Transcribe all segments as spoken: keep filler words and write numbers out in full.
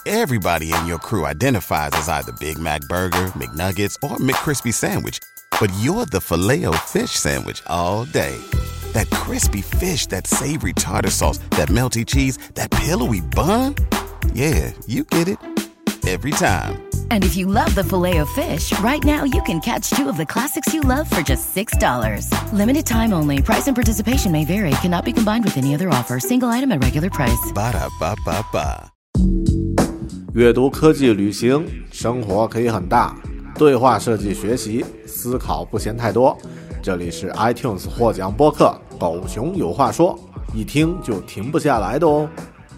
Everybody in your crew identifies as either Big Mac Burger, McNuggets, or McCrispy Sandwich. But you're the Filet-O-Fish Sandwich all day. That crispy fish, that savory tartar sauce, that melty cheese, that pillowy bun. Yeah, you get it. Every time. And if you love the Filet-O-Fish, right now you can catch two of the classics you love for just six dollars. Limited time only. Price and participation may vary. Cannot be combined with any other offer. Single item at regular price. Ba-da-ba-ba-ba. 阅读、科技、旅行，生活可以很大。对话设计学习，思考不嫌太多。这里是 iTunes 获奖播客《狗熊有话说》，一听就停不下来的哦。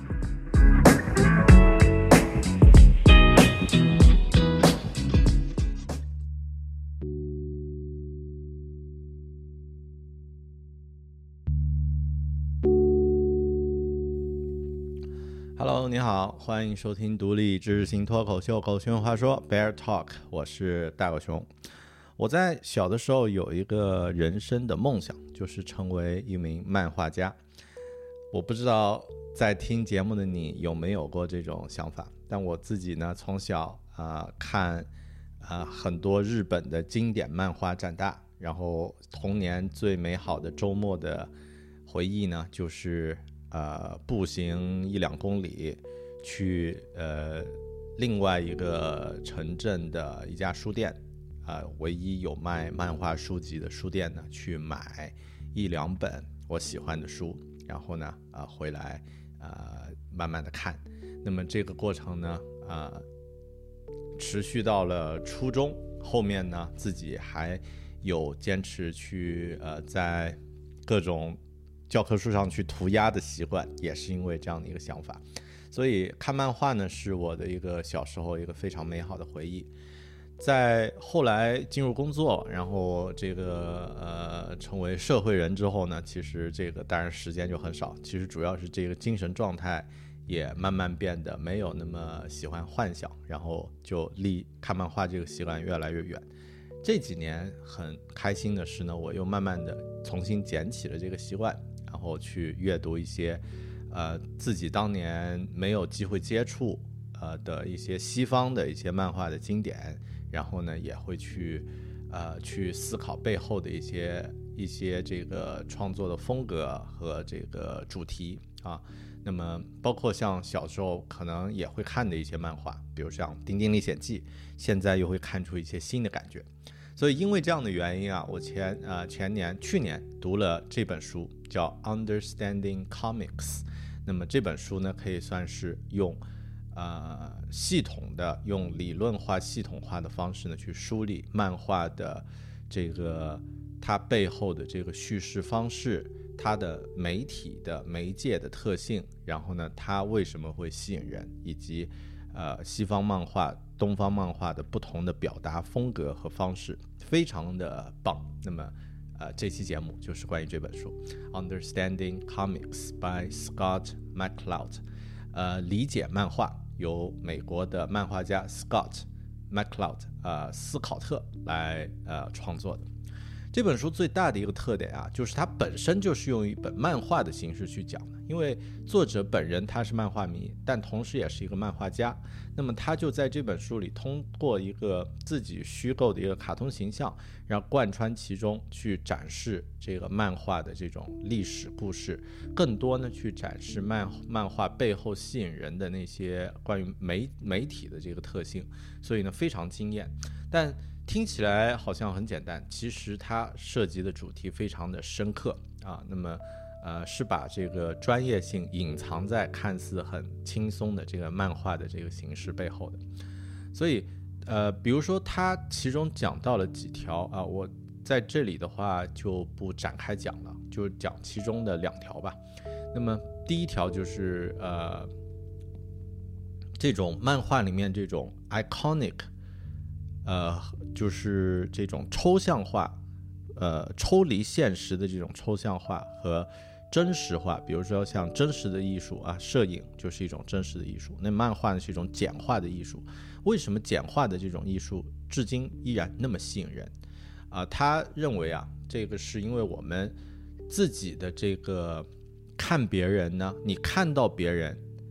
Hello， 你好，欢迎收听独立知识型脱口秀《狗熊有话说》Bear Talk， 我是大狗熊。我在小的时候有一个人生的梦想，就是成为一名漫画家。我不知道在听节目的你有没有过这种想法，但我自己呢，从小、呃、看、呃、很多日本的经典漫画长大，然后童年最美好的周末的回忆呢，就是呃，步行一两公里去呃另外一个城镇的一家书店，呃，唯一有卖漫画书籍的书店呢，去买一两本我喜欢的书，然后呢，呃，回来呃慢慢的看。那么这个过程呢，呃，持续到了初中，后面呢，自己还有坚持去呃在各种教科书上去涂鸦的习惯，也是因为这样的一个想法。所以看漫画呢，是我的一个小时候一个非常美好的回忆。在后来进入工作，然后这个呃成为社会人之后呢，其实这个当然时间就很少，其实主要是这个精神状态也慢慢变得没有那么喜欢幻想，然后就离看漫画这个习惯越来越远。这几年很开心的是呢，我又慢慢的重新捡起了这个习惯，然后去阅读一些呃自己当年没有机会接触呃的一些西方的一些漫画的经典，然后呢也会去呃去思考背后的一些一些这个创作的风格和这个主题啊。那么包括像小时候可能也会看的一些漫画，比如像《丁丁历险记》，现在又会看出一些新的感觉。所以因为这样的原因啊，我前呃前年去年读了这本书，叫 Understanding Comics。那么这本书呢，可以算是用呃系统的、用理论化、系统化的方式呢，去梳理漫画的这个它背后的这个叙事方式，它的媒体的媒介的特性，然后呢，它为什么会吸引人，以及呃西方漫画、东方漫画的不同的表达风格和方式，非常的棒。那么呃这期节目就是关于这本书 Understanding Comics by Scott McCloud， 呃理解漫画，由美国的漫画家 Scott McCloud 呃斯考特来呃创作的。这本书最大的一个特点啊，就是它本身就是用一本漫画的形式去讲的，因为作者本人他是漫画迷，但同时也是一个漫画家。那么他就在这本书里通过一个自己虚构的一个卡通形象，然后贯穿其中，去展示这个漫画的这种历史故事，更多呢去展示漫漫画背后吸引人的那些关于媒媒体的这个特性，所以呢非常惊艳。但听起来好像很简单，其实它涉及的主题非常的深刻啊。那么呃，是把这个专业性隐藏在看似很轻松的这个漫画的这个形式背后的。所以呃，比如说它其中讲到了几条啊，我在这里的话就不展开讲了，就讲其中的两条吧。那么第一条就是呃，这种漫画里面这种 iconic呃，就是这种抽象化，呃，抽离现实的这种抽象化和真实化。比如说像真实的艺术啊，摄影就是一种真实的艺术，那漫画呢是一种简化的艺术。为什么简化的这种艺术至今依然那么吸引人啊？他认为啊，这个是因为我们自己的这个看别人呢，你看到别人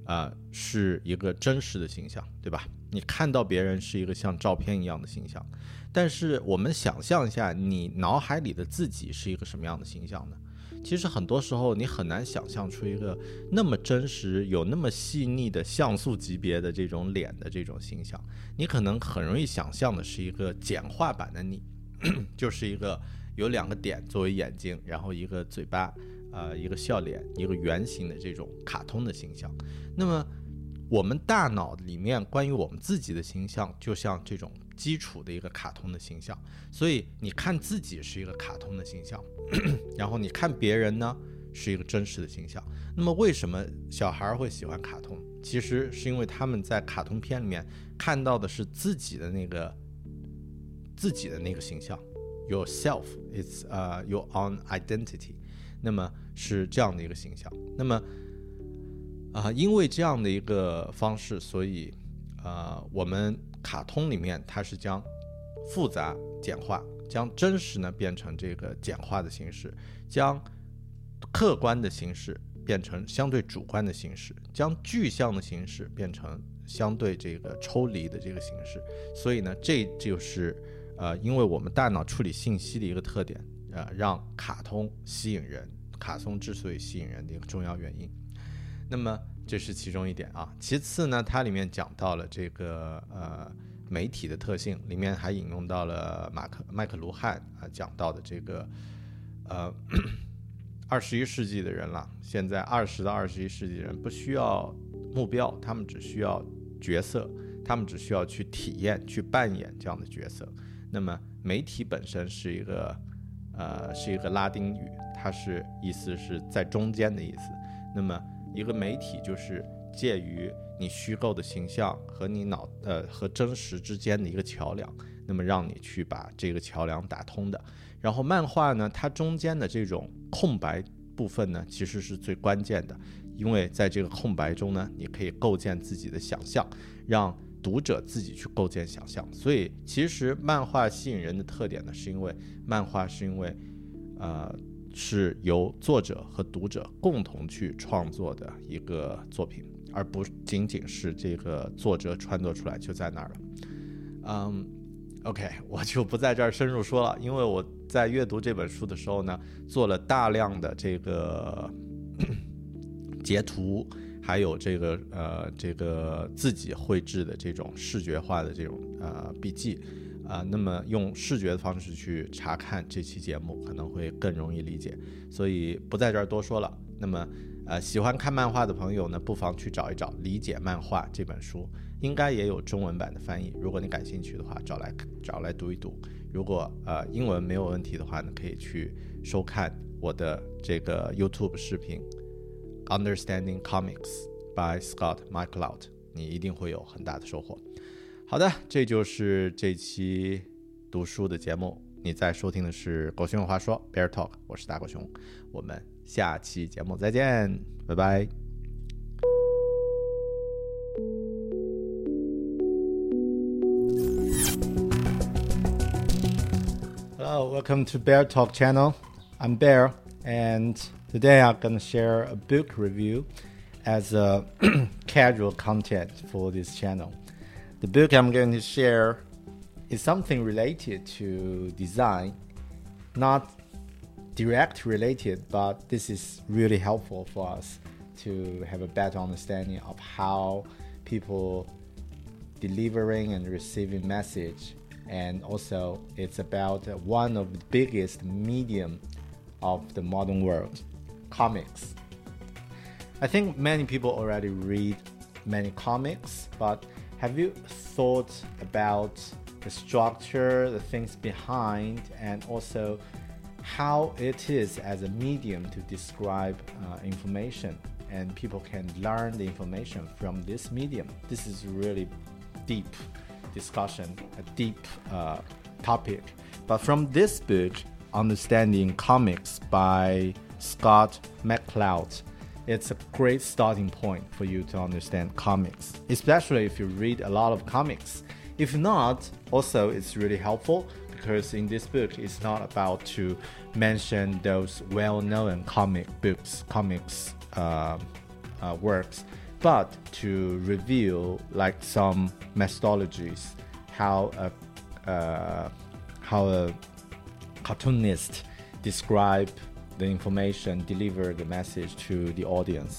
呃，是一个真实的形象，对吧？你看到别人是一个像照片一样的形象，但是我们想象一下，你脑海里的自己是一个什么样的形象呢？其实很多时候你很难想象出一个那么真实、有那么细腻的像素级别的这种脸的这种形象，你可能很容易想象的是一个简化版的你，就是一个有两个点作为眼睛，然后一个嘴巴，呃，一个笑脸，一个圆形的这种卡通的形象。那么我们大脑里面关于我们自己的形象就像这种基础的一个卡通的形象，所以你看自己是一个卡通的形象，然后你看别人呢是一个真实的形象。那么为什么小孩会喜欢卡通？其实是因为他们在卡通片里面看到的是自己的那个自己的那个形象 yourself it's、uh, your own identity， 那么是这样的一个形象。那么啊，因为这样的一个方式，所以呃，我们卡通里面它是将复杂简化，将真实呢变成这个简化的形式，将客观的形式变成相对主观的形式，将具象的形式变成相对这个抽离的这个形式。所以呢，这就是呃，因为我们大脑处理信息的一个特点，呃，让卡通吸引人，卡通之所以吸引人的一个重要原因。那么这是其中一点啊。其次呢，它里面讲到了这个呃媒体的特性，里面还引用到了马克麦克卢汉啊讲到的这个呃二十一世纪的人了，现在二十到二十一世纪的人不需要目标，他们只需要角色，他们只需要去体验、去扮演这样的角色。那么媒体本身是一个呃是一个拉丁语，它是意思是在中间的意思。那么一个媒体就是介于你虚构的形象和你脑呃和真实之间的一个桥梁，那么让你去把这个桥梁打通的。然后漫画呢，它中间的这种空白部分呢，其实是最关键的，因为在这个空白中呢，你可以构建自己的想象，让读者自己去构建想象。所以其实漫画吸引人的特点呢，是因为漫画是因为呃是由作者和读者共同去创作的一个作品，而不仅仅是这个作者创作出来就在那儿了。嗯 OK， 我就不在这儿深入说了，因为我在阅读这本书的时候呢，做了大量的这个截图，还有这个呃这个自己绘制的这种视觉化的这种呃笔记啊、呃，那么用视觉的方式去查看这期节目可能会更容易理解，所以不在这儿多说了。那么呃喜欢看漫画的朋友呢，不妨去找一找《理解漫画》这本书，应该也有中文版的翻译，如果你感兴趣的话，找来找来读一读。如果呃英文没有问题的话呢，可以去收看我的这个 YouTube 视频 Understanding Comics by Scott McCloud， 你一定会有很大的收获。好的，这就是这期读书的节目。你在收听的是狗熊有话说 Bear Talk， 我是大狗熊，我们下期节目再见，拜拜。Hello, welcome to Bear Talk channel. I'm Bear, and today I'm going to share a book review as a casual content for this channel. The book I'm going to share is something related to design, not direct related, but this is really helpful for us to have a better understanding of how people delivering and receiving message. And also it's about one of the biggest medium of the modern world, comics. I think many people already read many comics, but have you thought about the structure, the things behind, and also how it is as a medium to describe uh, information, and people can learn the information from this medium? This is really deep discussion, a deep uh, topic. But from this book, Understanding Comics by Scott McCloud, it's a great starting point for you to understand comics, especially if you read a lot of comics. If not, also it's really helpful because in this book, it's not about to mention those well-known comic books, comics uh, uh, works, but to reveal like some methodologies, how a uh, how a cartoonist describe the information, deliver the message to the audience.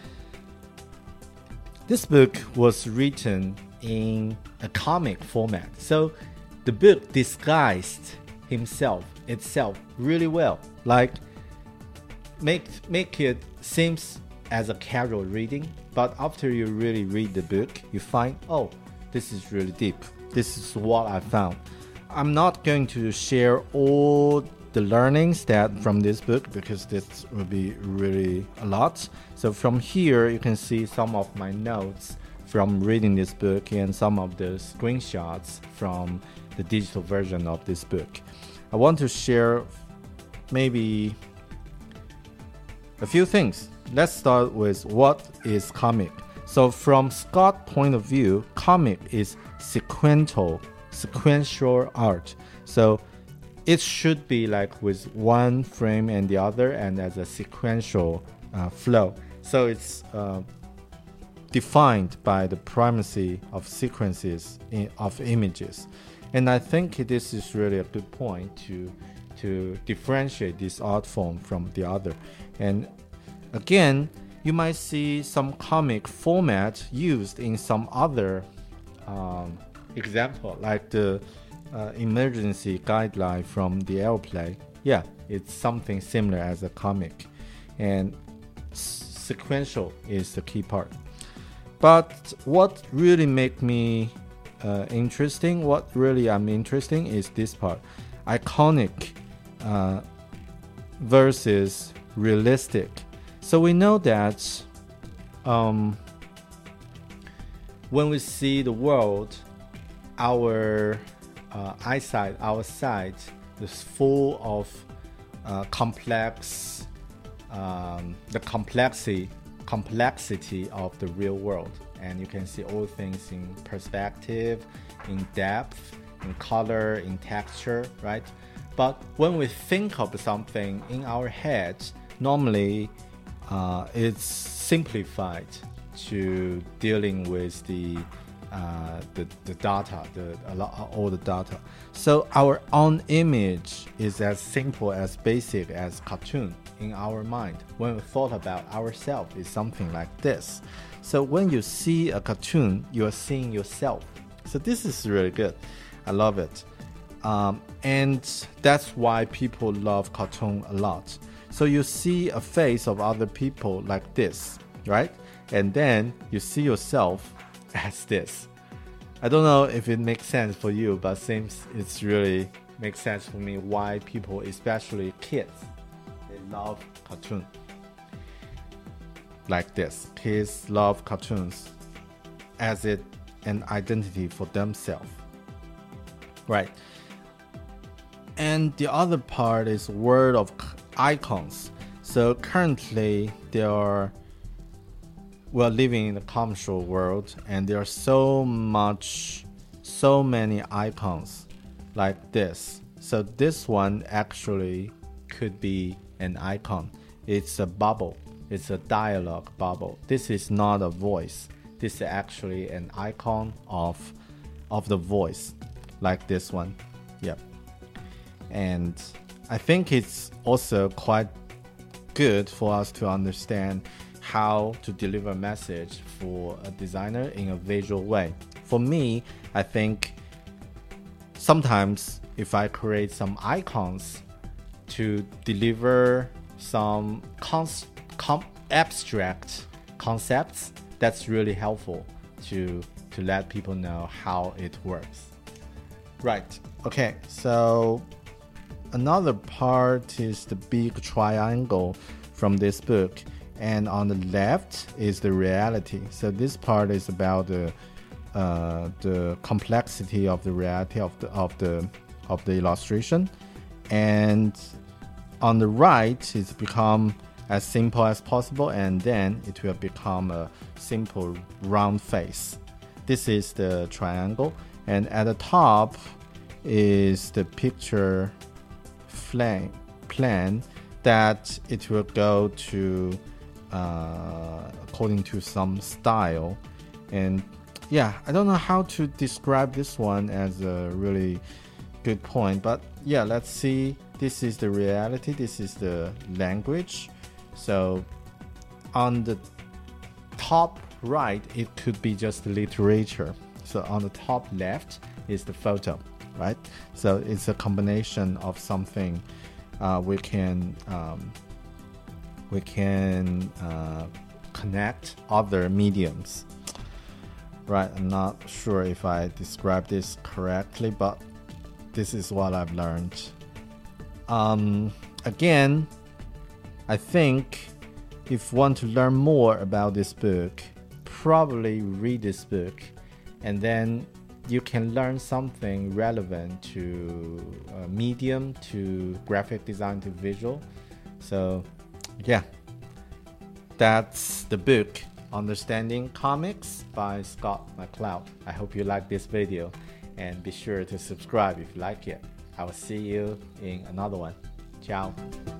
This book was written in a comic format, so the book disguised himself itself really well. Like make make it seems as a casual reading, but after you really read the book, you find, oh, this is really deep. This is what I found. I'm not going to share all the learnings that from this book because this will be really a lot. So from here, you can see some of my notes from reading this book and some of the screenshots from the digital version of this book. I want to share maybe a few things. Let's start with what is comic. So from Scott's point of view, comic is sequential, sequential art. So it should be like with one frame and the other and as a sequential uh, flow. So it's uh, defined by the primacy of sequences in, of images. And I think this is really a good point to to differentiate this art form from the other. And again, you might see some comic format used in some other um, example, like the uh, emergency guideline from the airplane. Yeah, it's something similar as a comic. And sequential is the key part. But what really make me uh, interesting, what really I'm interesting is this part. Iconic uh, versus realistic. So we know that um, when we see the world, our uh, eyesight, our sight is full of uh, complex, um, the complexity, complexity of the real world. And you can see all things in perspective, in depth, in color, in texture, right? But when we think of something in our heads, normally uh, it's simplified to dealing with the uh, the, the data, the a lot, all the data. So our own image is as simple, as basic as cartoon in our mind. When we thought about ourselves, is something like this. So when you see a cartoon, you are seeing yourself. So this is really good. I love it. Um, and that's why people love cartoon a lot. So you see a face of other people like this, right? And then you see yourself as this. I don't know if it makes sense for you, but seems it's really makes sense for me why people, especially kids, they love cartoon like this. Kids love cartoons as it an identity for themselves, right? And the other part is world of icons. So currently there are we're living in a commercial world, and there are so much, so many icons like this. So this one actually could be an icon. It's a bubble. It's a dialogue bubble. This is not a voice. This is actually an icon of of the voice, like this one. Yep. And I think it's also quite good for us to understand how to deliver a message for a designer in a visual way. For me, I think sometimes if I create some icons to deliver some cons- com- abstract concepts, that's really helpful to to let people know how it works. Right. Okay. So another part is the big triangle from this book. And on the left is the reality. So this part is about the uh, the complexity of the reality of the of the of the illustration, and on the right it's become as simple as possible, and then it will become a simple round face. This is the triangle, and at the top is the picture plan plan that it will go to uh, according to some style. And yeah, I don't know how to describe this one as a really good point, but yeah, let's see. This is the reality. This is the language. So on the top right, it could be just literature. So on the top left is the photo, right? So it's a combination of something uh, we can um, we can uh, connect other mediums. Right, I'm not sure if I described this correctly, but this is what I've learned. Um, again, I think if you want to learn more about this book, probably read this book, and then you can learn something relevant to uh, medium, to graphic design, to visual. So, yeah, that's the book, Understanding Comics by Scott McCloud. I hope you like this video, and be sure to subscribe if you like it. I will see you in another one. Ciao.